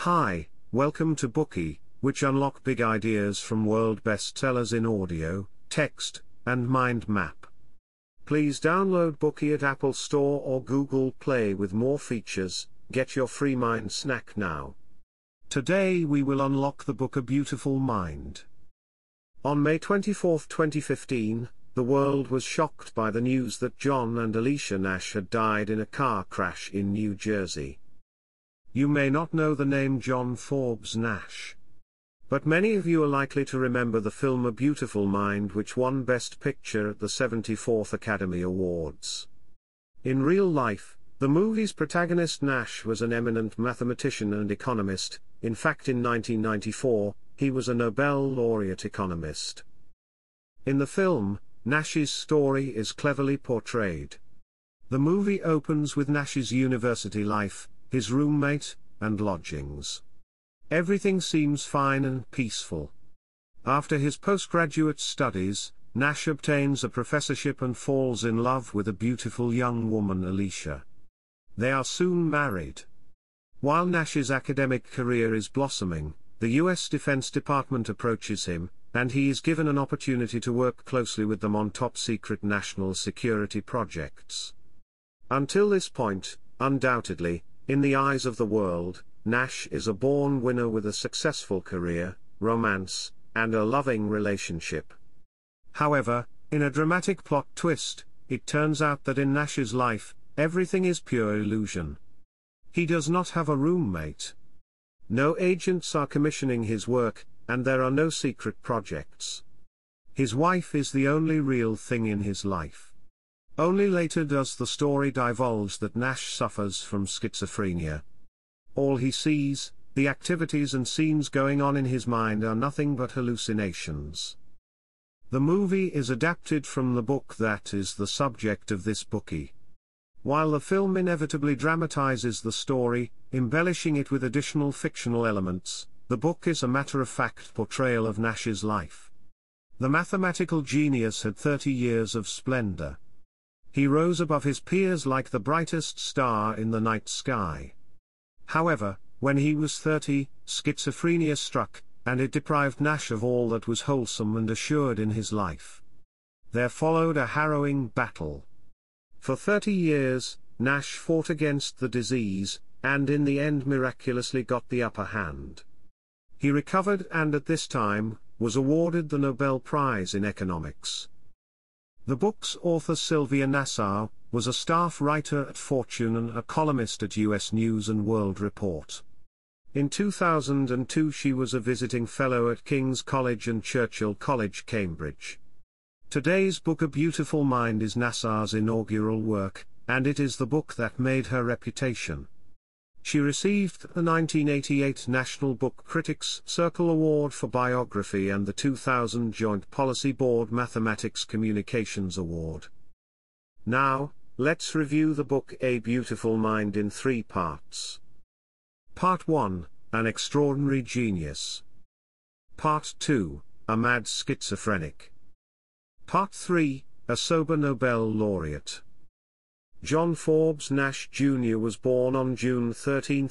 Hi, welcome to Bookey, which unlock big ideas from world bestsellers in audio, text, and mind map. Please download Bookey at Apple Store or Google Play with more features. Get your free mind snack now. Today we will unlock the book A Beautiful Mind. On May 24, 2015, the world was shocked by the news that John and Alicia Nash had died in a car crash in New Jersey. You may not know the name John Forbes Nash, but many of you are likely to remember the film A Beautiful Mind, which won Best Picture at the 74th Academy Awards. In real life, the movie's protagonist Nash was an eminent mathematician and economist. In fact, in 1994, he was a Nobel laureate economist. In the film, Nash's story is cleverly portrayed. The movie opens with Nash's university life, his roommate, and lodgings. Everything seems fine and peaceful. After his postgraduate studies, Nash obtains a professorship and falls in love with a beautiful young woman, Alicia. They are soon married. While Nash's academic career is blossoming, the U.S. Defense Department approaches him, and he is given an opportunity to work closely with them on top-secret national security projects. Until this point, undoubtedly, in the eyes of the world, Nash is a born winner with a successful career, romance, and a loving relationship. However, in a dramatic plot twist, it turns out that in Nash's life, everything is pure illusion. He does not have a roommate. No agents are commissioning his work, and there are no secret projects. His wife is the only real thing in his life. Only later does the story divulge that Nash suffers from schizophrenia. All he sees, the activities and scenes going on in his mind, are nothing but hallucinations. The movie is adapted from the book that is the subject of this Bookey. While the film inevitably dramatizes the story, embellishing it with additional fictional elements, the book is a matter-of-fact portrayal of Nash's life. The mathematical genius had 30 years of splendor. He rose above his peers like the brightest star in the night sky. However, when he was 30, schizophrenia struck, and it deprived Nash of all that was wholesome and assured in his life. There followed a harrowing battle. For 30 years, Nash fought against the disease, and in the end miraculously got the upper hand. He recovered and at this time, was awarded the Nobel Prize in Economics. The book's author Sylvia Nassau was a staff writer at Fortune and a columnist at U.S. News & World Report. In 2002 she was a visiting fellow at King's College and Churchill College, Cambridge. Today's book A Beautiful Mind is Nassau's inaugural work, and it is the book that made her reputation. She received the 1988 National Book Critics Circle Award for Biography and the 2000 Joint Policy Board Mathematics Communications Award. Now, let's review the book A Beautiful Mind in 3 parts. Part 1, An Extraordinary Genius. Part 2, A Mad Schizophrenic. Part 3, A Sober Nobel Laureate. John Forbes Nash Jr. was born on June 13,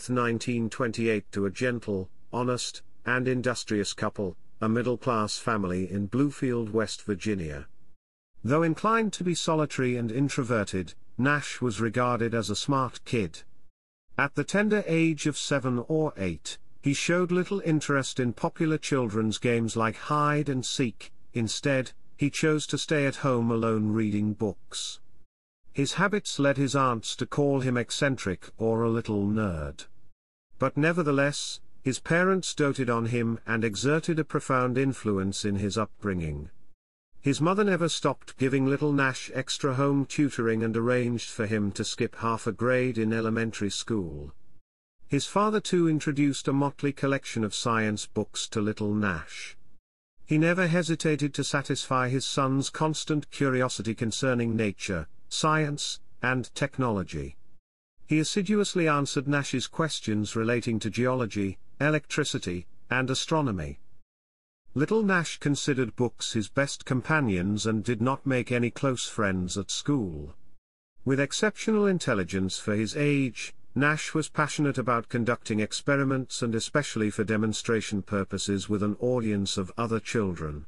1928 to a gentle, honest, and industrious couple, a middle-class family in Bluefield, West Virginia. Though inclined to be solitary and introverted, Nash was regarded as a smart kid. At the tender age of 7 or 8, he showed little interest in popular children's games like hide and seek. Instead, he chose to stay at home alone reading books. His habits led his aunts to call him eccentric or a little nerd. But nevertheless, his parents doted on him and exerted a profound influence in his upbringing. His mother never stopped giving little Nash extra home tutoring and arranged for him to skip half a grade in elementary school. His father too introduced a motley collection of science books to little Nash. He never hesitated to satisfy his son's constant curiosity concerning nature, science, and technology. He assiduously answered Nash's questions relating to geology, electricity, and astronomy. Little Nash considered books his best companions and did not make any close friends at school. With exceptional intelligence for his age, Nash was passionate about conducting experiments and especially for demonstration purposes with an audience of other children.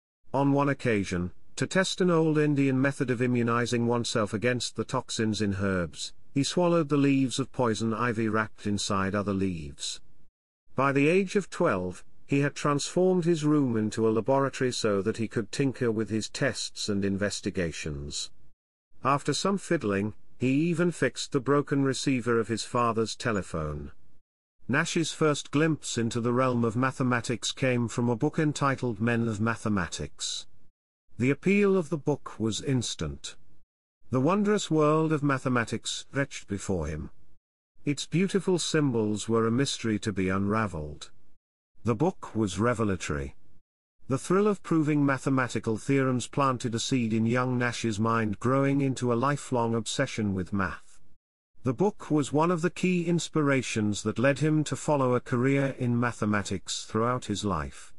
On one occasion, to test an old Indian method of immunizing oneself against the toxins in herbs, he swallowed the leaves of poison ivy wrapped inside other leaves. By the age of 12, he had transformed his room into a laboratory so that he could tinker with his tests and investigations. After some fiddling, he even fixed the broken receiver of his father's telephone. Nash's first glimpse into the realm of mathematics came from a book entitled Men of Mathematics. The appeal of the book was instant. The wondrous world of mathematics stretched before him. Its beautiful symbols were a mystery to be unraveled. The book was revelatory. The thrill of proving mathematical theorems planted a seed in young Nash's mind, growing into a lifelong obsession with math. The book was one of the key inspirations that led him to follow a career in mathematics throughout his life.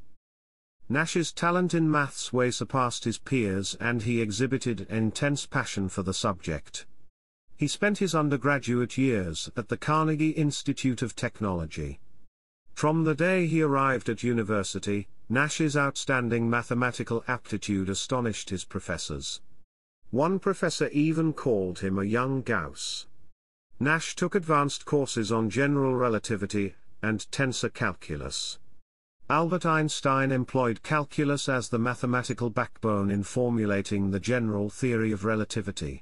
Nash's talent in maths way surpassed his peers, and he exhibited an intense passion for the subject. He spent his undergraduate years at the Carnegie Institute of Technology. From the day he arrived at university, Nash's outstanding mathematical aptitude astonished his professors. One professor even called him a young Gauss. Nash took advanced courses on general relativity and tensor calculus. Albert Einstein employed calculus as the mathematical backbone in formulating the general theory of relativity.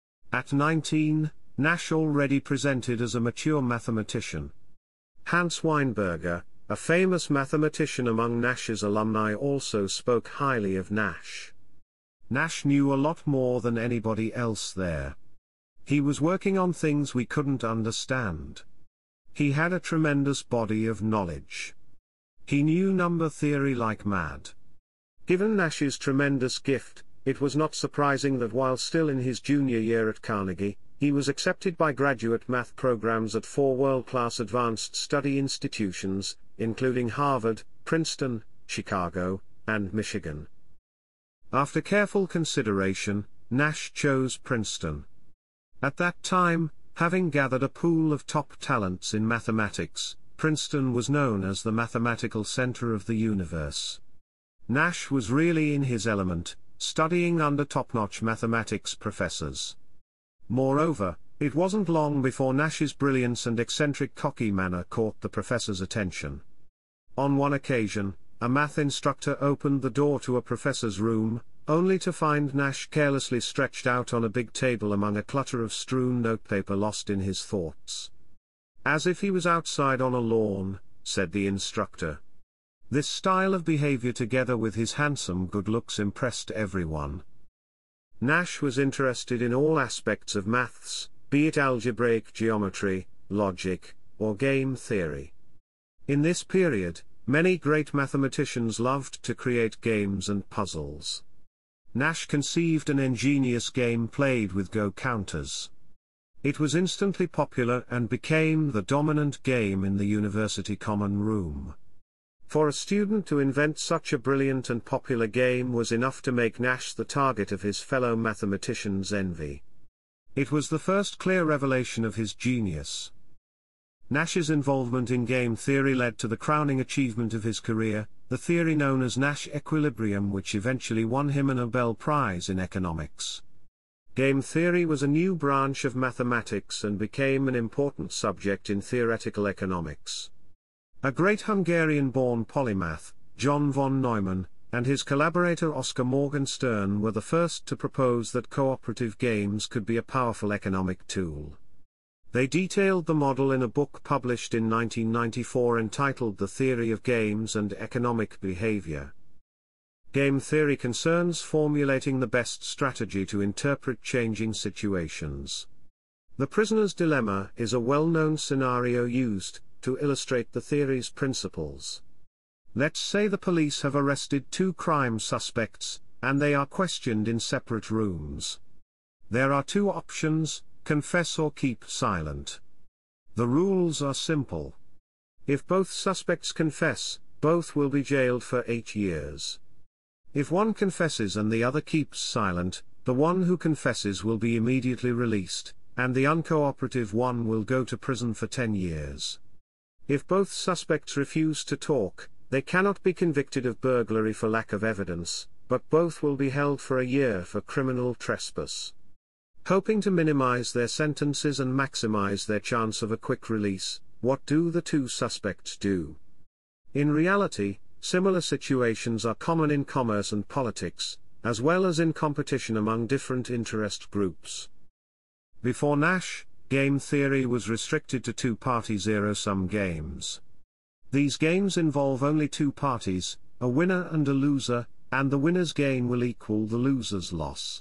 At 19, Nash already presented as a mature mathematician. Hans Weinberger, a famous mathematician among Nash's alumni, also spoke highly of Nash. Nash knew a lot more than anybody else there. He was working on things we couldn't understand. He had a tremendous body of knowledge. He knew number theory like mad. Given Nash's tremendous gift, it was not surprising that while still in his junior year at Carnegie, he was accepted by graduate math programs at 4 world-class advanced study institutions, including Harvard, Princeton, Chicago, and Michigan. After careful consideration, Nash chose Princeton. At that time, having gathered a pool of top talents in mathematics, Princeton was known as the mathematical center of the universe. Nash was really in his element, studying under top-notch mathematics professors. Moreover, it wasn't long before Nash's brilliance and eccentric cocky manner caught the professor's attention. On one occasion, a math instructor opened the door to a professor's room, only to find Nash carelessly stretched out on a big table among a clutter of strewn notepaper, lost in his thoughts. "As if he was outside on a lawn," said the instructor. This style of behavior, together with his handsome good looks, impressed everyone. Nash was interested in all aspects of maths, be it algebraic geometry, logic, or game theory. In this period, many great mathematicians loved to create games and puzzles. Nash conceived an ingenious game played with Go counters. It was instantly popular and became the dominant game in the university common room. For a student to invent such a brilliant and popular game was enough to make Nash the target of his fellow mathematicians' envy. It was the first clear revelation of his genius. Nash's involvement in game theory led to the crowning achievement of his career, the theory known as Nash equilibrium, which eventually won him a Nobel Prize in economics. Game theory was a new branch of mathematics and became an important subject in theoretical economics. A great Hungarian-born polymath, John von Neumann, and his collaborator Oscar Morgenstern were the first to propose that cooperative games could be a powerful economic tool. They detailed the model in a book published in 1994 entitled The Theory of Games and Economic Behavior. Game theory concerns formulating the best strategy to interpret changing situations. The prisoner's dilemma is a well-known scenario used to illustrate the theory's principles. Let's say the police have arrested 2 crime suspects, and they are questioned in separate rooms. There are 2 options: confess or keep silent. The rules are simple. If both suspects confess, both will be jailed for 8 years. If one confesses and the other keeps silent, the one who confesses will be immediately released, and the uncooperative one will go to prison for 10 years. If both suspects refuse to talk, they cannot be convicted of burglary for lack of evidence, but both will be held for a year for criminal trespass. Hoping to minimize their sentences and maximize their chance of a quick release, what do the two suspects do? In reality, similar situations are common in commerce and politics, as well as in competition among different interest groups. Before Nash, game theory was restricted to two-party zero-sum games. These games involve only two parties, a winner and a loser, and the winner's gain will equal the loser's loss.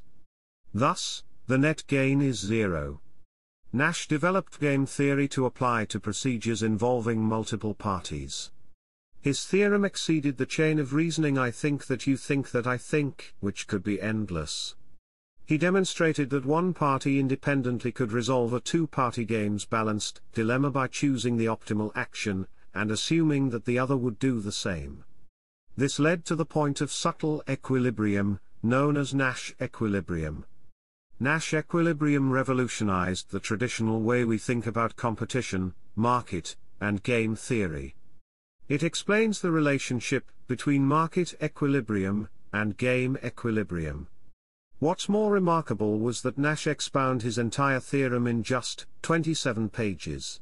Thus, the net gain is zero. Nash developed game theory to apply to procedures involving multiple parties. His theorem exceeded the chain of reasoning I think that you think that I think, which could be endless. He demonstrated that one party independently could resolve a two-party game's balanced dilemma by choosing the optimal action, and assuming that the other would do the same. This led to the point of subtle equilibrium, known as Nash equilibrium. Nash equilibrium revolutionized the traditional way we think about competition, market, and game theory. It explains the relationship between market equilibrium and game equilibrium. What's more remarkable was that Nash expounded his entire theorem in just 27 pages.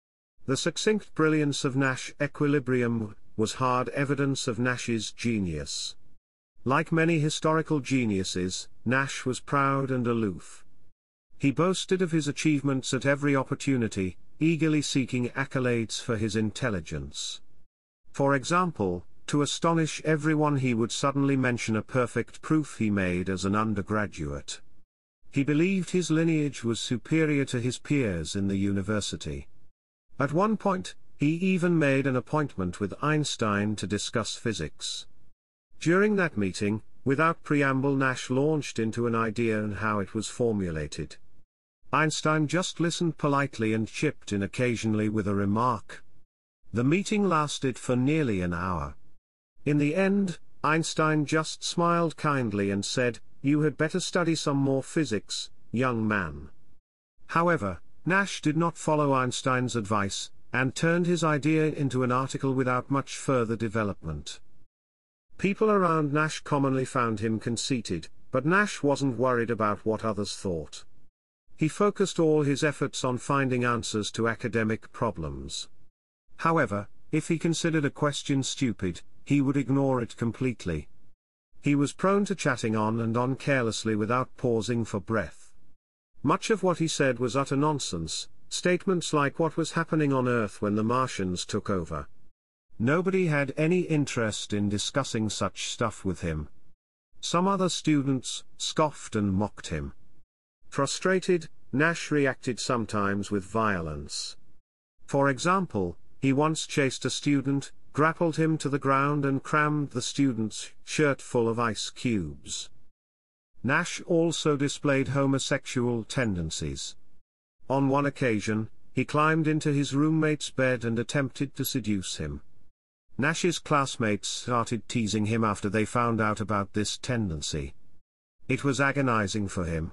The succinct brilliance of Nash equilibrium was hard evidence of Nash's genius. Like many historical geniuses, Nash was proud and aloof. He boasted of his achievements at every opportunity, eagerly seeking accolades for his intelligence. For example, to astonish everyone he would suddenly mention a perfect proof he made as an undergraduate. He believed his lineage was superior to his peers in the university. At one point, he even made an appointment with Einstein to discuss physics. During that meeting, without preamble, Nash launched into an idea and how it was formulated. Einstein just listened politely and chipped in occasionally with a remark. The meeting lasted for nearly an hour. In the end, Einstein just smiled kindly and said, "You had better study some more physics, young man." However, Nash did not follow Einstein's advice, and turned his idea into an article without much further development. People around Nash commonly found him conceited, but Nash wasn't worried about what others thought. He focused all his efforts on finding answers to academic problems. However, if he considered a question stupid, he would ignore it completely. He was prone to chatting on and on carelessly without pausing for breath. Much of what he said was utter nonsense, statements like what was happening on Earth when the Martians took over. Nobody had any interest in discussing such stuff with him. Some other students scoffed and mocked him. Frustrated, Nash reacted sometimes with violence. For example, he once chased a student, grappled him to the ground and crammed the student's shirt full of ice cubes. Nash also displayed homosexual tendencies. On one occasion, he climbed into his roommate's bed and attempted to seduce him. Nash's classmates started teasing him after they found out about this tendency. It was agonizing for him.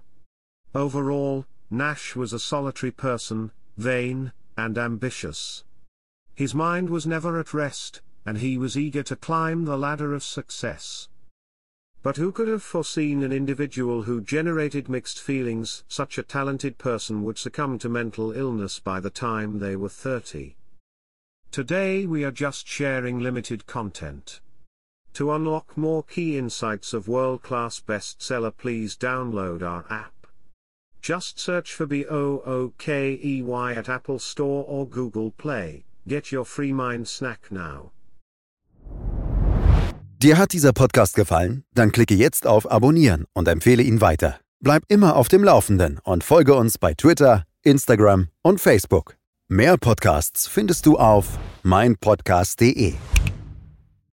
Overall, Nash was a solitary person, vain, and ambitious. His mind was never at rest, and he was eager to climb the ladder of success. But who could have foreseen an individual who generated mixed feelings? Such a talented person would succumb to mental illness by the time they were 30. Today we are just sharing limited content. To unlock more key insights of world-class bestseller, please download our app. Just search for BOOKEY at Apple Store or Google Play. Get your free mind snack now. Dir hat dieser Podcast gefallen? Dann klicke jetzt auf Abonnieren und empfehle ihn weiter. Bleib immer auf dem Laufenden und folge uns bei Twitter, Instagram und Facebook. Mehr Podcasts findest du auf meinpodcast.de.